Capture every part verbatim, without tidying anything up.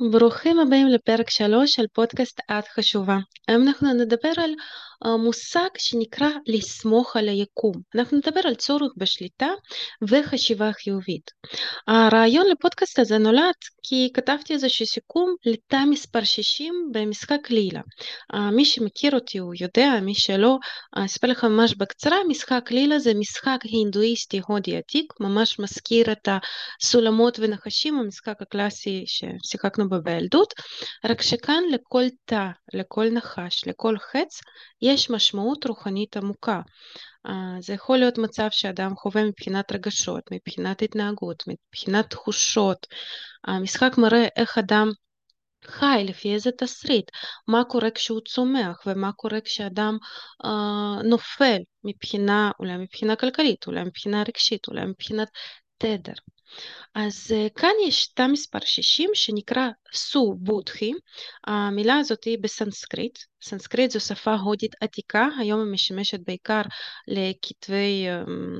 ברוכים הבאים לפרק שלוש של פודקאסט את חשובה. היום אנחנו נדבר על אה, מושג שנקרא לסמוך על היקום. אנחנו נדבר על צורך בשליטה וחשיבה חיובית. הרעיון לפודקאסט הזה נולד כי כתבתי איזשהו סיכום לתא מספר שישים במשחק לילה. אה, מי שמכיר אותי הוא יודע, מי שלא, אה, אספר לך ממש בקצרה. משחק לילה זה משחק הינדואיסטי הודי עתיק, ממש מזכיר את הסולמות ונחשים, המשחק הקלאסי ששיחקנו בו בילדות, רק שכאן לכל תא, לכל נחש, לכל חץ, יש משמעות רוחנית עמוקה. אה, זה יכול להיות מצב שאדם חווה מבחינת רגשות, מבחינת התנהגות, מבחינת תחושות. המשחק מראה איך אדם חי לפי איזה תסריט, מה קורה כשהוא צומח ומה קורה כשאדם אה, נופל מבחינה, אולי מבחינה כלכלית, אולי מבחינה רגשית, אולי מבחינת תדר. אז אה, כאן יש תא מספר שישים שנקרא סו בודהי. המילה הזאת היא בסנסקריט. סנסקריט זו שפה הודית עתיקה, היום היא משמשת בעיקר לכתבי אמ,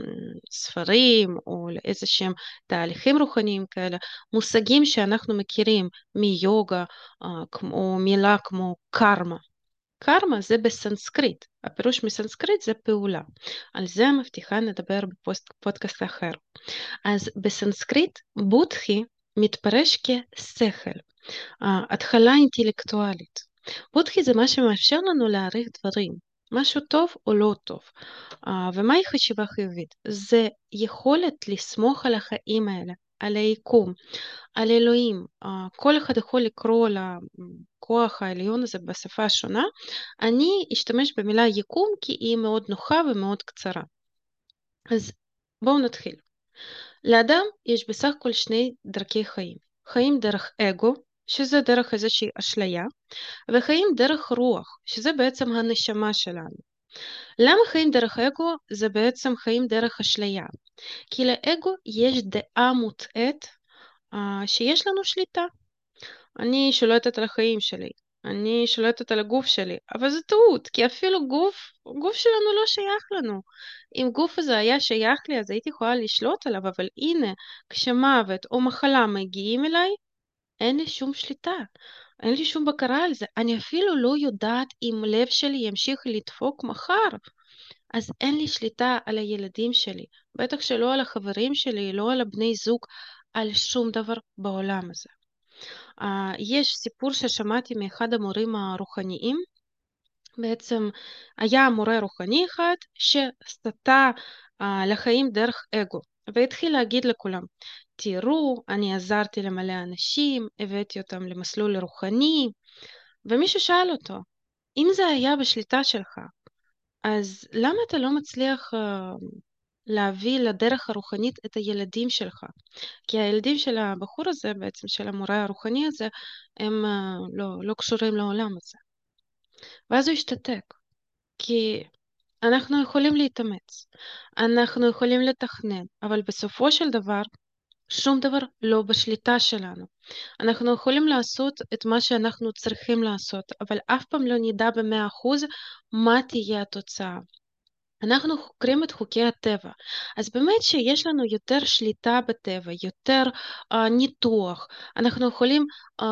ספרים או לאיזה שהם תהליכים רוחניים כאלה, מושגים שאנחנו מכירים מיוגה, אה, כמו מילה כמו קרמה. קרמה זה בסנסקריט, הפירוש מסנסקריט זה פעולה. על זה מבטיחה נדבר בפודקאסט אחר. אז בסנסקריט בודהי מתפרש כשכל, אה, התחלה אינטלקטואלית. בודהי זה מה שמאפשר לנו להעריך דברים, משהו טוב או לא טוב. אה, ומהי חשיבה חיובית? זה יכולת לסמוך על החיים האלה, על היקום, על אלוהים. אה, כל אחד יכול לקרוא לכוח העליון הזה בשפה שונה. אני אשתמש במילה יקום כי היא מאוד נוחה ומאוד קצרה. אז בואו נתחיל. לאדם יש בסך הכל שני דרכי חיים. חיים דרך אגו, שזה דרך איזושהי אשליה, וחיים דרך רוח, שזה בעצם הנשמה שלנו. למה חיים דרך אגו? זה בעצם חיים דרך אשליה. כי לאגו יש דעה מוטעית אה, שיש לנו שליטה. אני שולטת על החיים שלי, אני שולטת על הגוף שלי, אבל זה טעות, כי אפילו גוף, גוף שלנו לא שייך לנו. אם גוף הזה היה שייך לי, אז הייתי יכולה לשלוט עליו, אבל הנה, כשמוות או מחלה מגיעים אליי, אין לי שום שליטה, אין לי שום בקרה על זה. אני אפילו לא יודעת אם לב שלי ימשיך לדפוק מחר, אז אין לי שליטה על הילדים שלי, בטח שלא על החברים שלי, לא על הבני זוג, על שום דבר בעולם הזה. אה, יש סיפור ששמעתי מאחד המורים הרוחניים. בעצם היה מורה רוחני אחד שסטה אה, לחיים דרך אגו, והתחיל להגיד לכולם, תראו, אני עזרתי למלא אנשים, הבאתי אותם למסלול רוחני, ומישהו שאל אותו, אם זה היה בשליטה שלך, אז למה אתה לא מצליח אה, להביא לדרך הרוחנית את הילדים שלך? כי הילדים של הבחור הזה, בעצם של המורה הרוחני הזה, הם אה, לא, לא קשורים לעולם הזה. ואז הוא השתתק, כי אנחנו יכולים להתאמץ, אנחנו יכולים לתכנן, אבל בסופו של דבר שום דבר לא בשליטה שלנו. אנחנו יכולים לעשות את מה שאנחנו צריכים לעשות, אבל אף פעם לא נדע במאה אחוז מה תהיה התוצאה. אנחנו חוקרים את חוקי הטבע, אז באמת שיש לנו יותר שליטה בטבע, יותר uh, ניתוח, אנחנו יכולים um,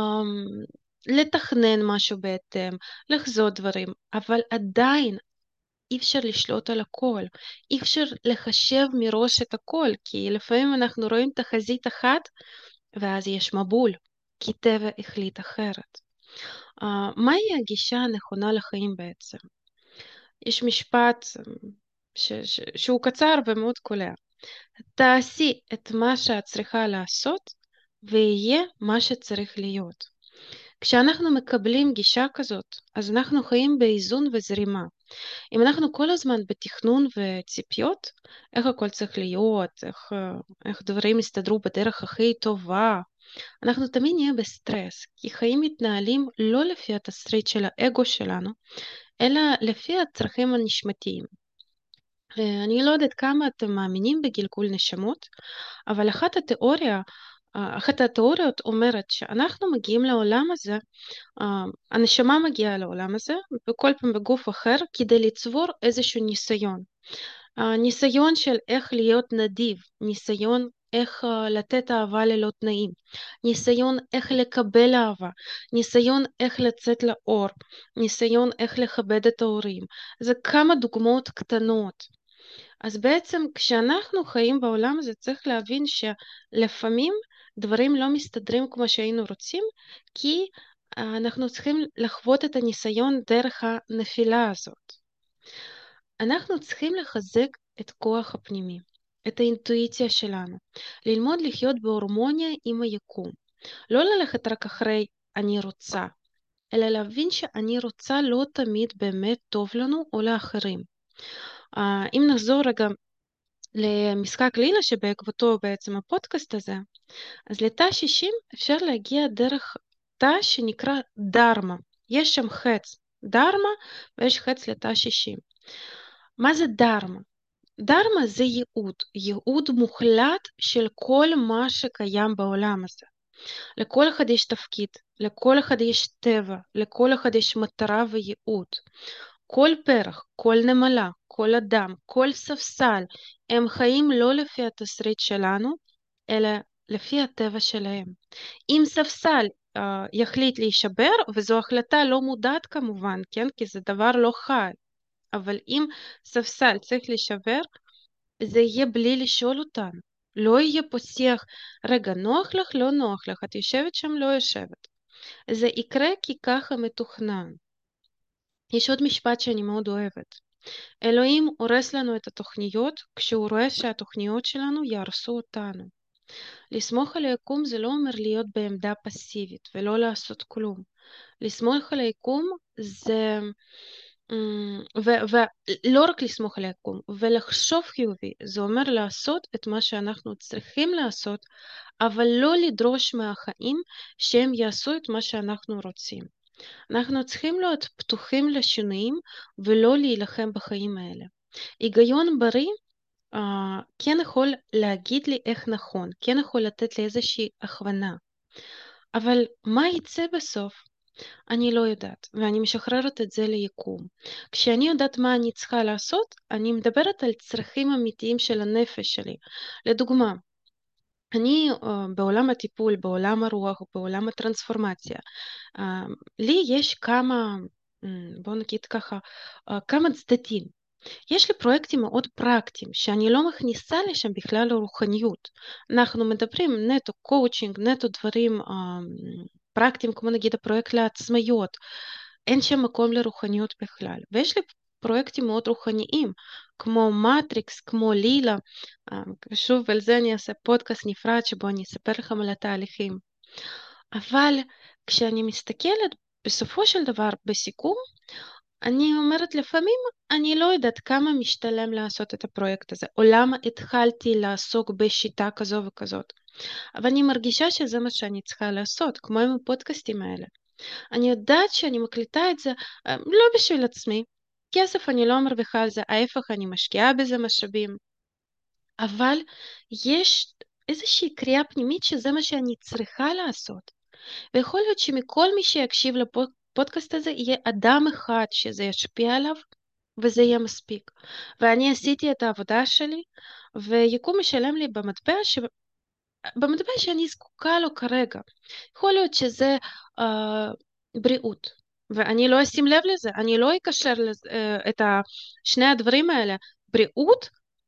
לתכנן משהו בהתאם, לחזות דברים, אבל עדיין אי אפשר לשלוט על הכל, אי אפשר לחשב מראש את הכל, כי לפעמים אנחנו רואים תחזית אחת, ואז יש מבול, כי טבע החליט אחרת. Uh, מהי הגישה הנכונה לחיים בעצם? יש משפט ש- ש- שהוא קצר ומאוד קולע. תעשי את מה שאת צריכה לעשות ויהיה מה שצריך להיות. כשאנחנו מקבלים גישה כזאת, אז אנחנו חיים באיזון וזרימה. אם אנחנו כל הזמן בתכנון וציפיות, איך הכל צריך להיות, איך, איך דברים יסתדרו בדרך הכי טובה, אנחנו תמיד נהיה בסטרס, כי חיים מתנהלים לא לפי התסריט של האגו שלנו, אלא לפי הצרכים הנשמתיים. אה, אני לא יודעת כמה אתם מאמינים בגלגול נשמות, אבל אחת התיאוריה, אה, אחת התיאוריות אומרת שאנחנו מגיעים לעולם הזה, אה, הנשמה מגיעה לעולם הזה, וכל פעם בגוף אחר, כדי לצבור איזשהו ניסיון. אה, ניסיון של איך להיות נדיב, ניסיון איך uh, לתת אהבה ללא תנאים, ניסיון איך לקבל אהבה, ניסיון איך לצאת לאור, ניסיון איך לכבד את ההורים. זה כמה דוגמאות קטנות. אז בעצם כשאנחנו חיים בעולם הזה צריך להבין שלפעמים דברים לא מסתדרים כמו שהיינו רוצים, כי uh, אנחנו צריכים לחוות את הניסיון דרך הנפילה הזאת. אנחנו צריכים לחזק את כוח הפנימי, את האינטואיציה שלנו, ללמוד לחיות בהורמוניה עם היקום, לא ללכת רק אחרי אני רוצה, אלא להבין שאני רוצה לא תמיד באמת טוב לנו או לאחרים. Uh, אם נחזור רגע למשחק לילה שבעקבותו בעצם הפודקאסט הזה, אז לתא שישים אפשר להגיע דרך תא שנקרא דרמה. יש שם חץ דרמה ויש חץ לתא שישים. מה זה דרמה? דרמה זה ייעוד, ייעוד מוחלט של כל מה שקיים בעולם הזה. לכל אחד יש תפקיד, לכל אחד יש טבע, לכל אחד יש מטרה וייעוד. כל פרח, כל נמלה, כל אדם, כל ספסל, הם חיים לא לפי התסריט שלנו, אלא לפי הטבע שלהם. אם ספסל uh, יחליט להישבר, וזו החלטה לא מודעת כמובן, כן? כי זה דבר לא חי, אבל אם ספסל צריך להישבר, זה יהיה בלי לשאול אותנו. לא יהיה פה שיח, רגע, נוח לך, לא נוח לך, את יושבת שם, לא יושבת. זה יקרה כי ככה מתוכנן. יש עוד משפט שאני מאוד אוהבת. אלוהים הורס לנו את התוכניות כשהוא רואה שהתוכניות שלנו יהרסו אותנו. לסמוך על היקום זה לא אומר להיות בעמדה פסיבית ולא לעשות כלום. לסמוך על היקום זה... ולא רק לסמוך על היקום, ולחשוב חיובי, זה אומר לעשות את מה שאנחנו צריכים לעשות, אבל לא לדרוש מהחיים שהם יעשו את מה שאנחנו רוצים. אנחנו צריכים להיות פתוחים לשינויים ולא להילחם בחיים האלה. היגיון בריא uh, כן יכול להגיד לי איך נכון, כן יכול לתת לי איזושהי הכוונה, אבל מה יצא בסוף? אני לא יודעת, ואני משחררת את זה ליקום. כשאני יודעת מה אני צריכה לעשות, אני מדברת על צרכים אמיתיים של הנפש שלי. לדוגמה, אני uh, בעולם הטיפול, בעולם הרוח, בעולם הטרנספורמציה. Uh, לי יש כמה, um, בוא נגיד ככה, uh, כמה צדדים. יש לי פרויקטים מאוד פרקטיים, שאני לא מכניסה לשם בכלל לרוחניות. אנחנו מדברים נטו קואוצ'ינג, נטו דברים uh, פרקטיים, כמו נגיד הפרויקט לעצמאיות. אין שם מקום לרוחניות בכלל. ויש לי פרויקטים מאוד רוחניים, כמו מטריקס, כמו לילה. שוב, על זה אני אעשה פודקאסט נפרד, שבו אני אספר לכם על התהליכים. אבל כשאני מסתכלת בסופו של דבר בסיכום, אני אומרת לפעמים, אני לא יודעת כמה משתלם לעשות את הפרויקט הזה, או למה התחלתי לעסוק בשיטה כזו וכזאת. אבל אני מרגישה שזה מה שאני צריכה לעשות, כמו עם הפודקאסטים האלה. אני יודעת שאני מקליטה את זה לא בשביל עצמי. כסף אני לא מרוויחה על זה, ההפך אני משקיעה בזה משאבים. אבל יש איזושהי קריאה פנימית שזה מה שאני צריכה לעשות. ויכול להיות שמכל מי שיקשיב לפודקאסט הזה יהיה אדם אחד שזה ישפיע עליו, וזה יהיה מספיק. ואני עשיתי את העבודה שלי, ויקום משלם לי במטבע ש... במטבע שאני זקוקה לו כרגע. יכול להיות שזה אה, בריאות, ואני לא אשים לב לזה, אני לא אקשר לזה, אה, את שני הדברים האלה, בריאות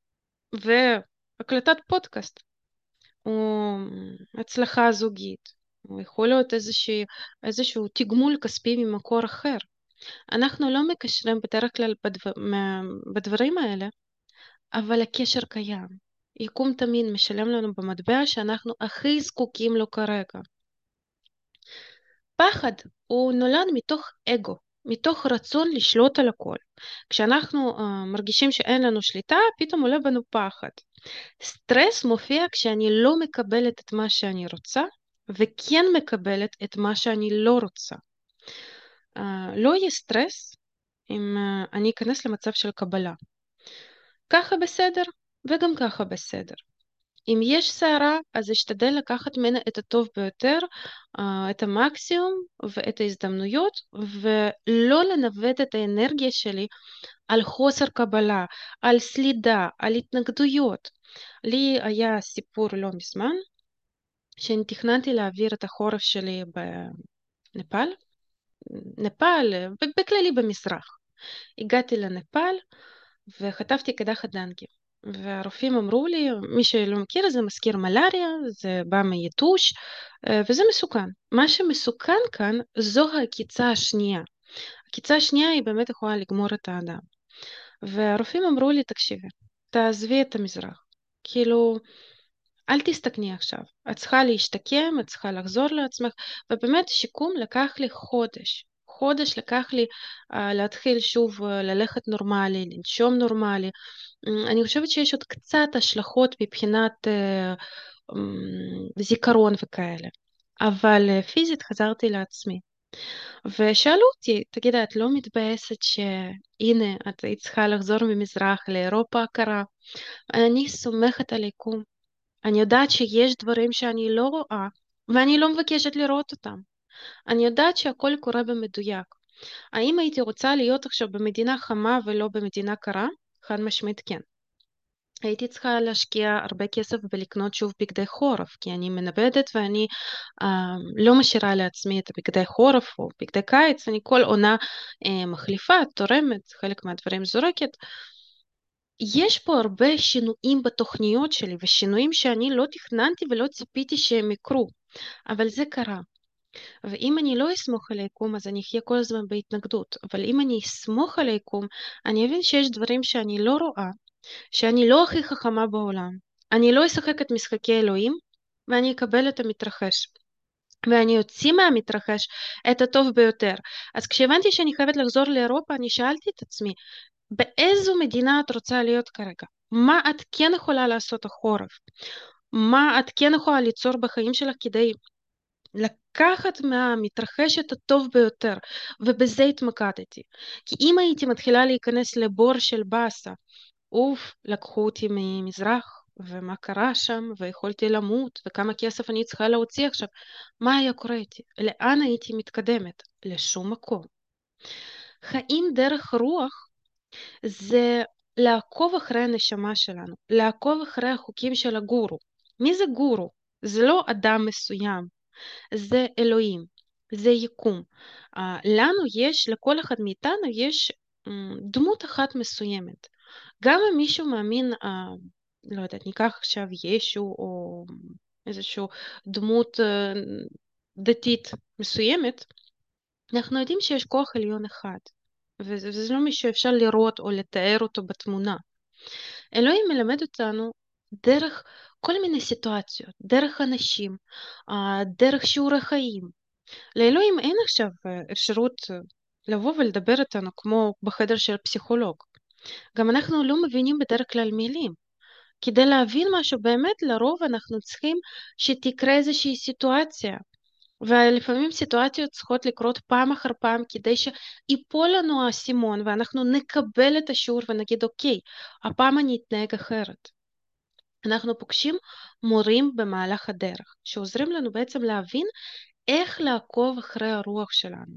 והקלטת פודקאסט, או הצלחה זוגית, או יכול להיות איזושהי, איזשהו תגמול כספי ממקור אחר. אנחנו לא מקשרים בדרך כלל בדבר, בדברים האלה, אבל הקשר קיים. יקום תמיד משלם לנו במטבע שאנחנו הכי זקוקים לו כרגע. פחד הוא נולד מתוך אגו, מתוך רצון לשלוט על הכל. כשאנחנו uh, מרגישים שאין לנו שליטה, פתאום עולה בנו פחד. סטרס מופיע כשאני לא מקבלת את מה שאני רוצה, וכן מקבלת את מה שאני לא רוצה. Uh, לא יהיה סטרס אם uh, אני אכנס למצב של קבלה. ככה בסדר, וגם ככה בסדר. אם יש שערה, אז אשתדל לקחת ממנה את הטוב ביותר, אה, את המקסימום ואת ההזדמנויות, ולא לנווט את האנרגיה שלי על חוסר קבלה, על סלידה, על התנגדויות. לי היה סיפור לא מזמן, שאני תכננתי להעביר את החורף שלי בנפאל, נפאל, בכללי במזרח. הגעתי לנפאל וחטפתי קדחת דנגי. והרופאים אמרו לי, מי שלא מכיר, זה מזכיר מלאריה, זה בא מיתוש, אה, וזה מסוכן. מה שמסוכן כאן זו העקיצה השנייה. העקיצה השנייה היא באמת יכולה לגמור את האדם. והרופאים אמרו לי, תקשיבי, תעזבי את המזרח. כאילו, אל תסתכני עכשיו. את צריכה להשתקם, את צריכה לחזור לעצמך, ובאמת שיקום לקח לי חודש. חודש לקח לי uh, להתחיל שוב uh, ללכת נורמלי, לנשום נורמלי. Mm, אני חושבת שיש עוד קצת השלכות מבחינת uh, um, זיכרון וכאלה. אבל uh, פיזית חזרתי לעצמי. ושאלו אותי, תגידה, את לא מתבאסת שהנה, את היית צריכה לחזור ממזרח לאירופה הקרה? אני סומכת על היקום. אני יודעת שיש דברים שאני לא רואה, ואני לא מבקשת לראות אותם. אני יודעת שהכל קורה במדויק. האם הייתי רוצה להיות עכשיו במדינה חמה ולא במדינה קרה? חד משמעית כן. הייתי צריכה להשקיע הרבה כסף בלקנות שוב בגדי חורף, כי אני מנבדת ואני אה, לא משאירה לעצמי את הבגדי חורף או בגדי קיץ, אני כל עונה אה, מחליפה, תורמת, חלק מהדברים זורקת. יש פה הרבה שינויים בתוכניות שלי, ושינויים שאני לא תכננתי ולא ציפיתי שהם יקרו, אבל זה קרה. ואם אני לא אסמוך על היקום, אז אני אחיה כל הזמן בהתנגדות. אבל אם אני אסמוך על היקום, אני אבין שיש דברים שאני לא רואה, שאני לא הכי חכמה בעולם. אני לא אשחק את משחקי אלוהים, ואני אקבל את המתרחש. ואני אוציא מהמתרחש את הטוב ביותר. אז כשהבנתי שאני חייבת לחזור לאירופה, אני שאלתי את עצמי, באיזו מדינה את רוצה להיות כרגע? מה את כן יכולה לעשות החורף? מה את כן יכולה ליצור בחיים שלך כדי לקחת מהמתרחש את הטוב ביותר? ובזה התמקדתי. כי אם הייתי מתחילה להיכנס לבור של באסה, אוף, לקחו אותי ממזרח, ומה קרה שם, ויכולתי למות, וכמה כסף אני צריכה להוציא עכשיו, מה היה קורה איתי? לאן הייתי מתקדמת? לשום מקום. חיים דרך רוח זה לעקוב אחרי הנשמה שלנו, לעקוב אחרי החוקים של הגורו. מי זה גורו? זה לא אדם מסוים, זה אלוהים, זה יקום. Uh, לנו יש, לכל אחד מאיתנו יש um, דמות אחת מסוימת. גם אם מישהו מאמין, uh, לא יודעת, ניקח עכשיו ישו או איזושהי דמות uh, דתית מסוימת, אנחנו יודעים שיש כוח עליון אחד. וזה, וזה לא מי שאפשר לראות או לתאר אותו בתמונה. אלוהים מלמד אותנו דרך כל מיני סיטואציות, דרך אנשים, אה, דרך שיעורי חיים. לאלוהים אין עכשיו אה, אפשרות אה, לבוא ולדבר איתנו כמו בחדר של פסיכולוג. גם אנחנו לא מבינים בדרך כלל מילים. כדי להבין משהו באמת, לרוב אנחנו צריכים שתקרה איזושהי סיטואציה. ולפעמים סיטואציות צריכות לקרות פעם אחר פעם כדי שיפול לנו האסימון ואנחנו נקבל את השיעור ונגיד אוקיי, הפעם אני אתנהג אחרת. אנחנו פוגשים מורים במהלך הדרך שעוזרים לנו בעצם להבין איך לעקוב אחרי הרוח שלנו.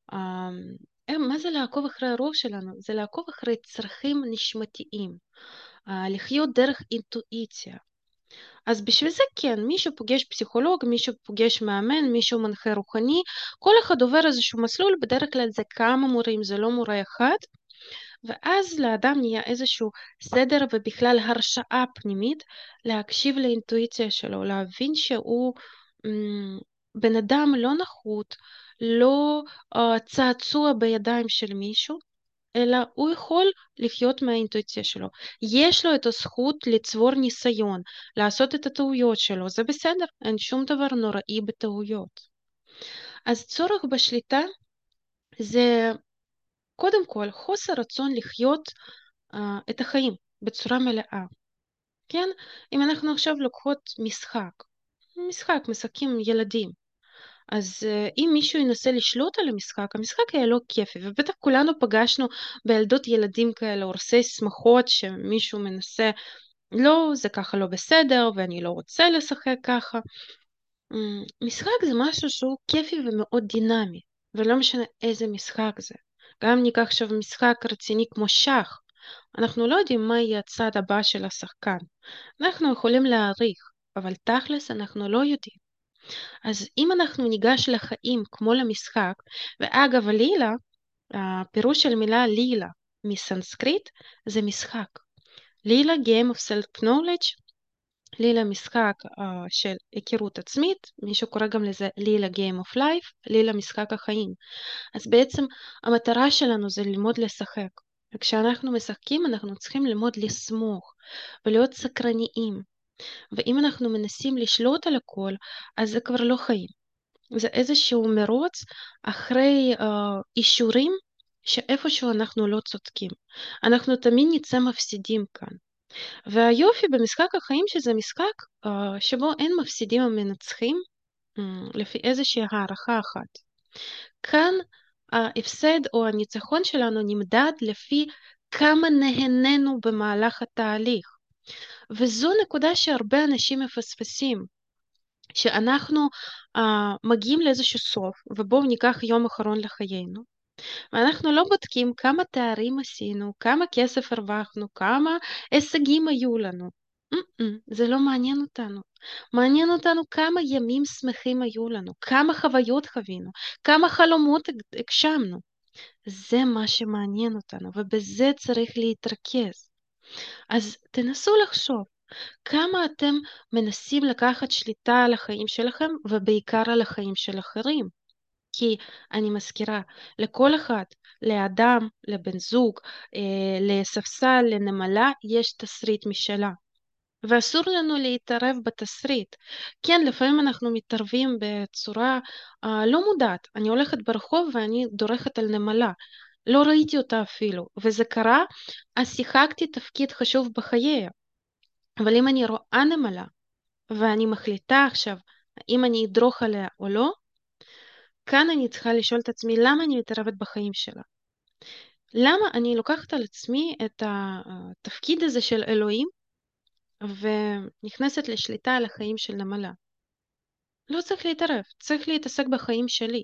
אמ, מה זה לעקוב אחרי הרוח שלנו? זה לעקוב אחרי צרכים נשמתיים, אה, לחיות דרך אינטואיציה. אז בשביל זה כן, מישהו פוגש פסיכולוג, מישהו פוגש מאמן, מישהו מנחה רוחני, כל אחד עובר איזשהו מסלול, בדרך כלל זה כמה מורים, זה לא מורה אחד, ואז לאדם נהיה איזשהו סדר ובכלל הרשאה פנימית להקשיב לאינטואיציה שלו, להבין שהוא מ, בן אדם לא נחות, לא uh, צעצוע בידיים של מישהו, אלא הוא יכול לחיות מהאינטואיציה שלו. יש לו את הזכות לצבור ניסיון, לעשות את הטעויות שלו, זה בסדר, אין שום דבר נוראי בטעויות. אז צורך בשליטה זה קודם כל חוסר רצון לחיות uh, את החיים בצורה מלאה. כן? אם אנחנו עכשיו לוקחות משחק, משחק, משחקים ילדים, אז uh, אם מישהו ינסה לשלוט על המשחק, המשחק היה לא כיפי, ובטח כולנו פגשנו בילדות ילדים כאלה, הורסי שמחות שמישהו מנסה לא, זה ככה לא בסדר, ואני לא רוצה לשחק ככה. אמ, משחק זה משהו שהוא כיפי ומאוד דינמי, ולא משנה איזה משחק זה. גם אם ניקח עכשיו משחק רציני כמו שח, אנחנו לא יודעים מה יהיה הצד הבא של השחקן. אנחנו יכולים להעריך, אבל תכלס אנחנו לא יודעים. אז אם אנחנו ניגש לחיים כמו למשחק, ואגב לילה, הפירוש של מילה לילה מסנסקריט זה משחק. לילה Game of Self-Knowledge, לילה משחק uh, של היכרות עצמית, מישהו קורא גם לזה לילה Game of Life, לילה משחק החיים. אז בעצם המטרה שלנו זה ללמוד לשחק. וכשאנחנו משחקים אנחנו צריכים ללמוד לסמוך ולהיות סקרניים. ואם אנחנו מנסים לשלוט על הכל, אז זה כבר לא חיים. זה איזשהו מרוץ אחרי uh, אישורים שאיפשהו אנחנו לא צודקים. אנחנו תמיד נצא מפסידים כאן. והיופי במשחק החיים שזה משחק uh, שבו אין מפסידים המנצחים um, לפי איזושהי הערכה אחת. כאן ההפסד או הניצחון שלנו נמדד לפי כמה נהנינו במהלך התהליך. וזו נקודה שהרבה אנשים מפספסים. שאנחנו uh, מגיעים לאיזשהו סוף, ובואו ניקח יום אחרון לחיינו, ואנחנו לא בודקים כמה תארים עשינו, כמה כסף הרווחנו, כמה הישגים היו לנו. Mm-mm, זה לא מעניין אותנו. מעניין אותנו כמה ימים שמחים היו לנו, כמה חוויות חווינו, כמה חלומות הגשמנו. זה מה שמעניין אותנו, ובזה צריך להתרכז. אז תנסו לחשוב. כמה אתם מנסים לקחת שליטה על החיים שלכם ובעיקר על החיים של אחרים? כי אני מזכירה, לכל אחד, לאדם, לבן זוג, אה, לספסל, לנמלה, יש תסריט משלה. ואסור לנו להתערב בתסריט. כן, לפעמים אנחנו מתערבים בצורה אה, לא מודעת. אני הולכת ברחוב ואני דורכת על נמלה. לא ראיתי אותה אפילו, וזה קרה, אז שיחקתי תפקיד חשוב בחייה. אבל אם אני רואה נמלה, ואני מחליטה עכשיו האם אני אדרוך עליה או לא, כאן אני צריכה לשאול את עצמי למה אני מתערבת בחיים שלה. למה אני לוקחת על עצמי את התפקיד הזה של אלוהים ונכנסת לשליטה על החיים של נמלה. לא צריך להתערב, צריך להתעסק בחיים שלי.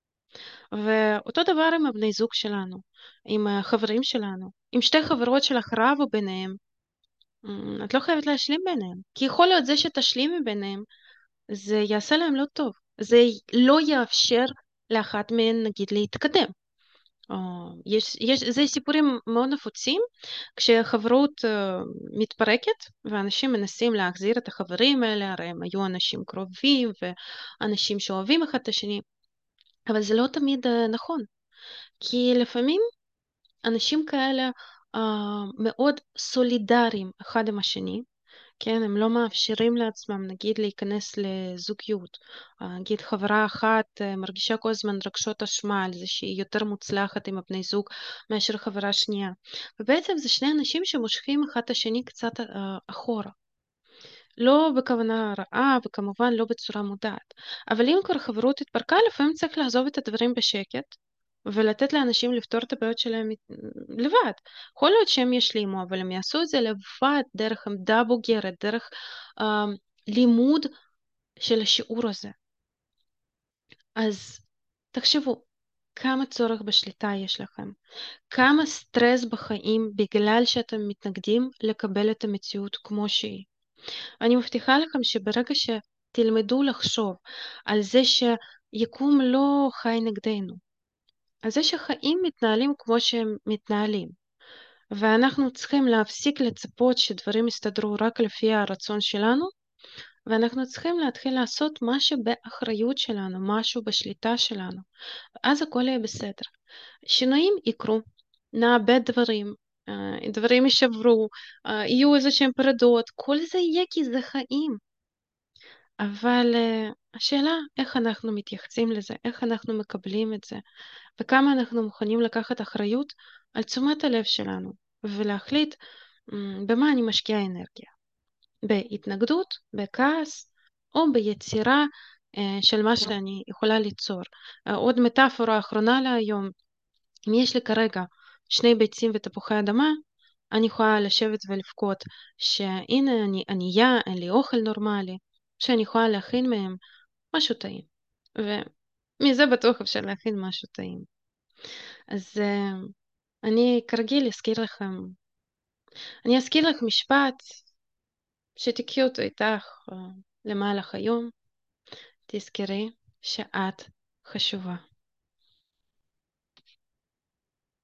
ואותו דבר עם הבני זוג שלנו, עם החברים שלנו. אם שתי חברות שלך רבו ביניהם, את לא חייבת להשלים ביניהם. כי יכול להיות זה שתשלימי ביניהם, זה יעשה להם לא טוב. זה לא יאפשר לאחת מהן נגיד להתקדם. או, יש, יש, זה סיפורים מאוד נפוצים כשחברות uh, מתפרקת ואנשים מנסים להחזיר את החברים האלה, הרי הם היו אנשים קרובים ואנשים שאוהבים אחד את השני, אבל זה לא תמיד uh, נכון, כי לפעמים אנשים כאלה uh, מאוד סולידריים אחד עם השני, כן, הם לא מאפשרים לעצמם, נגיד, להיכנס לזוגיות. נגיד, חברה אחת מרגישה כל הזמן רגשות אשמה על זה שהיא יותר מוצלחת עם הבני זוג מאשר חברה שנייה. ובעצם זה שני אנשים שמושכים אחד את השני קצת uh, אחורה. לא בכוונה רעה וכמובן לא בצורה מודעת. אבל אם כבר חברות התפרקה, לפעמים צריך לעזוב את הדברים בשקט ולתת לאנשים לפתור את הבעיות שלהם לבד. יכול להיות שהם ישלימו, אבל הם יעשו את זה לבד, דרך עמדה בוגרת, דרך אה, לימוד של השיעור הזה. אז תחשבו, כמה צורך בשליטה יש לכם, כמה סטרס בחיים בגלל שאתם מתנגדים לקבל את המציאות כמו שהיא. אני מבטיחה לכם שברגע שתלמדו לחשוב על זה שיקום לא חי נגדנו, על זה שחיים מתנהלים כמו שהם מתנהלים, ואנחנו צריכים להפסיק לצפות שדברים יסתדרו רק לפי הרצון שלנו, ואנחנו צריכים להתחיל לעשות משהו באחריות שלנו, משהו בשליטה שלנו, ואז הכל יהיה בסדר. שינויים יקרו, נאבד דברים, דברים יישברו, יהיו איזה שהם פרדות, כל זה יהיה כי זה חיים. אבל uh, השאלה איך אנחנו מתייחסים לזה, איך אנחנו מקבלים את זה, וכמה אנחנו מוכנים לקחת אחריות על תשומת הלב שלנו, ולהחליט um, במה אני משקיעה אנרגיה. בהתנגדות, בכעס, או ביצירה uh, של מה שאני יכולה ליצור. Uh, עוד מטאפורה אחרונה להיום, אם יש לי כרגע שני ביצים ותפוחי אדמה, אני יכולה לשבת ולבכות שהנה אני ענייה, אין לי אוכל נורמלי, שאני יכולה להכין מהם משהו טעים. ומזה בטוח אפשר להכין משהו טעים. אז אה, אני כרגיל אזכיר לכם, אני אזכיר לך משפט שתקחי אותו איתך אה, למהלך היום. תזכרי שאת חשובה.